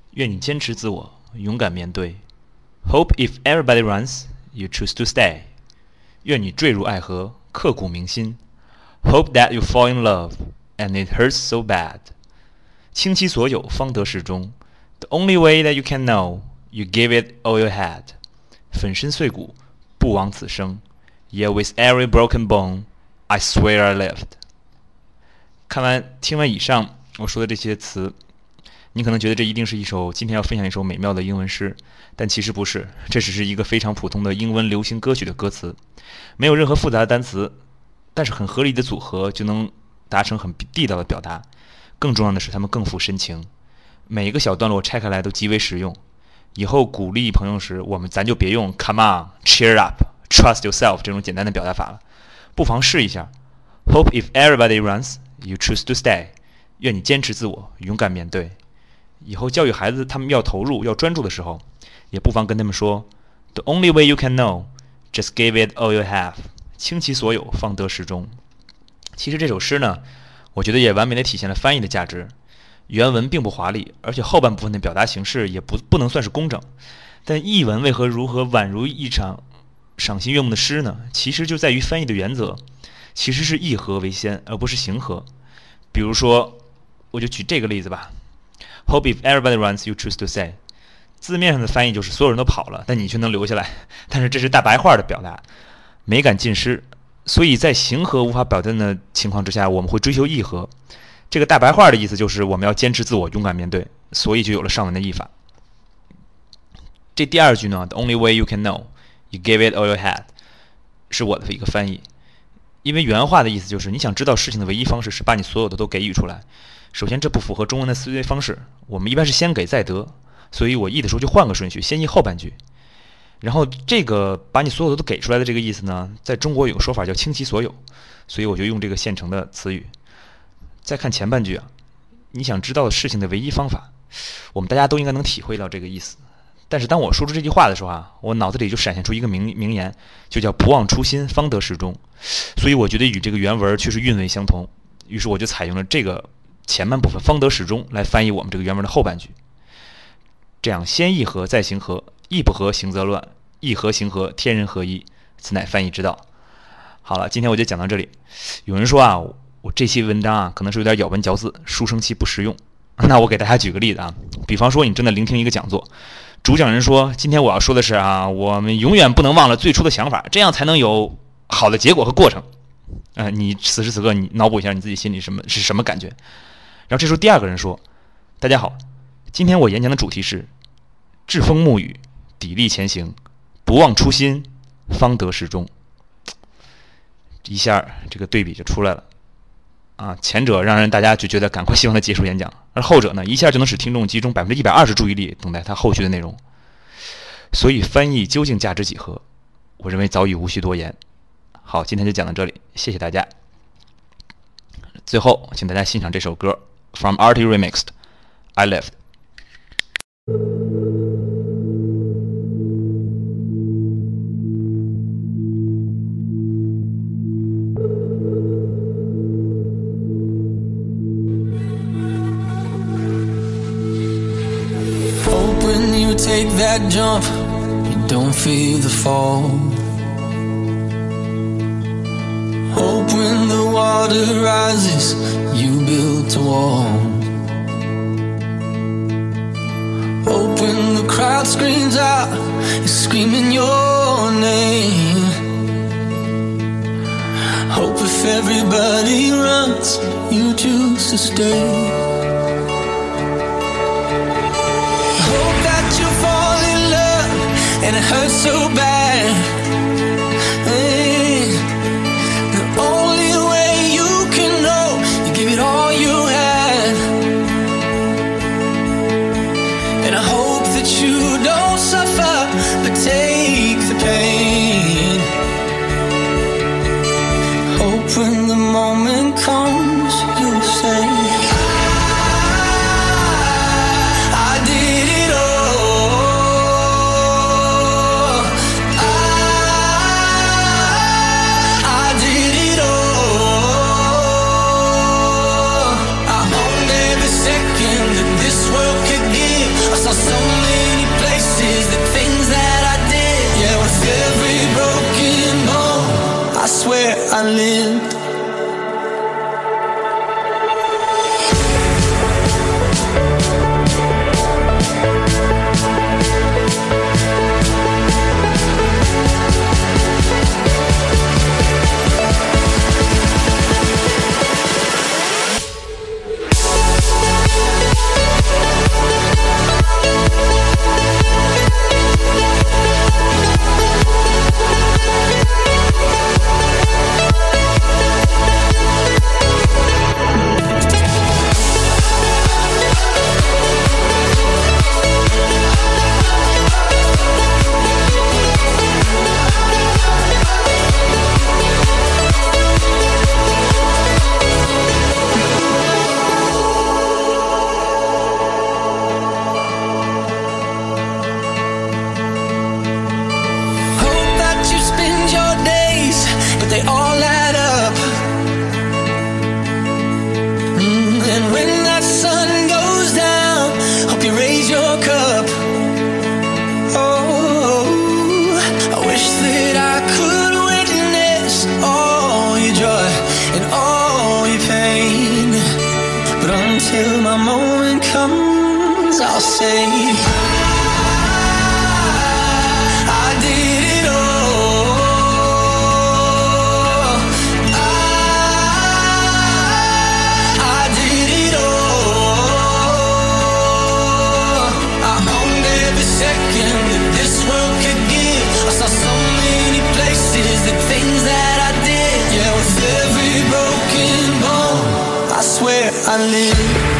愿你坚持自我，勇敢面对。Hope if everybody runs, you choose to stay. 愿你坠入爱河，刻骨铭心。Hope that you fall in love, and it hurts so bad. 倾其所有，方得始终。The only way that you can know, you give it all you had. 粉身碎骨，不枉此生。Yet with every broken bone, I swear I lived. 听完以上我说的这些词，你可能觉得这一定是今天要分享一首美妙的英文诗，但其实不是，这只是一个非常普通的英文流行歌曲的歌词，没有任何复杂的单词，但是很合理的组合就能达成很地道的表达。更重要的是，它们更富深情，每一个小段落拆开来都极为实用。以后鼓励朋友时，咱就别用 "Come on, cheer up, trust yourself" 这种简单的表达法了，不妨试一下。Hope if everybody runs, you choose to stay. 愿你坚持自我，勇敢面对。以后教育孩子他们要投入、要专注的时候，也不妨跟他们说 "The only way you can know, just give it all you have." 倾其所有，方得始终。其实这首诗呢，我觉得也完美的体现了翻译的价值。原文并不华丽，而且后半部分的表达形式也不能算是工整。但译文为何如何宛如一场赏心悦目的诗呢？其实就在于翻译的原则，其实是意和为先，而不是形和。比如说，我就举这个例子吧。Hope if everybody runs, you choose to stay. 字面上的翻译就是所有人都跑了，但你却能留下来。但是这是大白话的表达，美感尽失。所以在形和无法表现的情况之下，我们会追求意和。这个大白话的意思就是我们要坚持自我，勇敢面对，所以就有了上文的译法。这第二句呢 ，The only way you can know, you give it all you had， 是我的一个翻译。因为原话的意思就是你想知道事情的唯一方式是把你所有的都给予出来。首先，这不符合中文的思维方式，我们一般是先给再得，所以我译的时候就换个顺序，先译后半句。然后这个把你所有的都给出来的这个意思呢，在中国有个说法叫倾其所有，所以我就用这个现成的词语。再看前半句啊，你想知道事情的唯一方法，我们大家都应该能体会到这个意思。但是当我说出这句话的时候啊，我脑子里就闪现出一个名言，就叫不忘初心，方得始终。所以我觉得与这个原文确实韵味相同，于是我就采用了这个前半部分方得始终来翻译我们这个原文的后半句。这样先意和再行和，意不合行则乱，意和行和天人合一，此乃翻译之道。好了，今天我就讲到这里。有人说啊，我这期文章啊可能是有点咬文嚼字，书生气不实用。那我给大家举个例子啊，比方说你正在聆听一个讲座，主讲人说今天我要说的是啊，我们永远不能忘了最初的想法，这样才能有好的结果和过程。你此时此刻你脑补一下你自己心里是什么感觉？然后这时候第二个人说，大家好，今天我演讲的主题是栉风沐雨，砥砺前行，不忘初心，方得始终。一下这个对比就出来了啊！前者让大家就觉得赶快希望他结束演讲，而后者呢，一下就能使听众集中120%注意力等待他后续的内容。所以翻译究竟价值几何？我认为早已无需多言。好，今天就讲到这里，谢谢大家。最后，请大家欣赏这首歌 From Artie Remixed I Lived。 Take that jump, you don't fear the fall. Hope when the water rises, you build a wall. Hope when the crowd screams out, you're screaming your name. Hope if everybody runs, you choose to stay. And it hurts so bad. The only way you can know, you give it all you had. And I hope that you don't suffer, but take the pain. Hope when the moment comes, you'll say, I did it all. my moment comes, I'll say I did it all. I did it all. I owned every second that this world could give. I saw so many places, the things that I did. Yeah, with every broken bone, I swear I live.